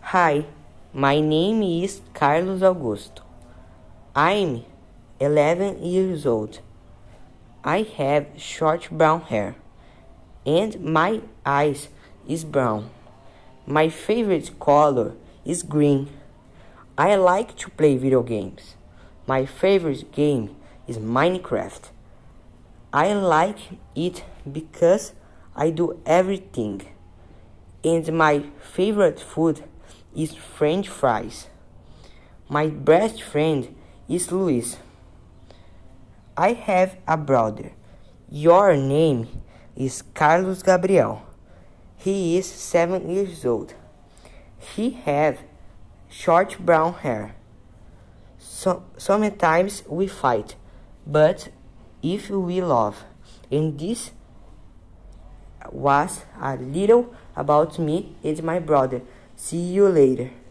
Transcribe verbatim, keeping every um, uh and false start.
Hi, my name is Carlos Augusto. I'm eleven years old. I have short brown hair and my eyes is brown. My favorite color is green. I like to play video games. My favorite game is Minecraft. I like it because I do everything. And my favorite food is French fries. My best friend is Luis. I have a brother. Your name is Carlos Gabriel. He is seven years old. He have short brown hair. So, sometimes we fight, but if we love. And this was a little about me and my brother. See you later.